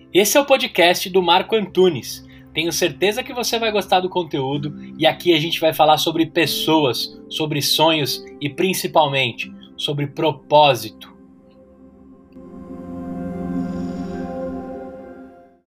Esse é o podcast do Marco Antunes. Tenho certeza que você vai gostar do conteúdo e aqui a gente vai falar sobre pessoas, sobre sonhos e principalmente sobre propósito.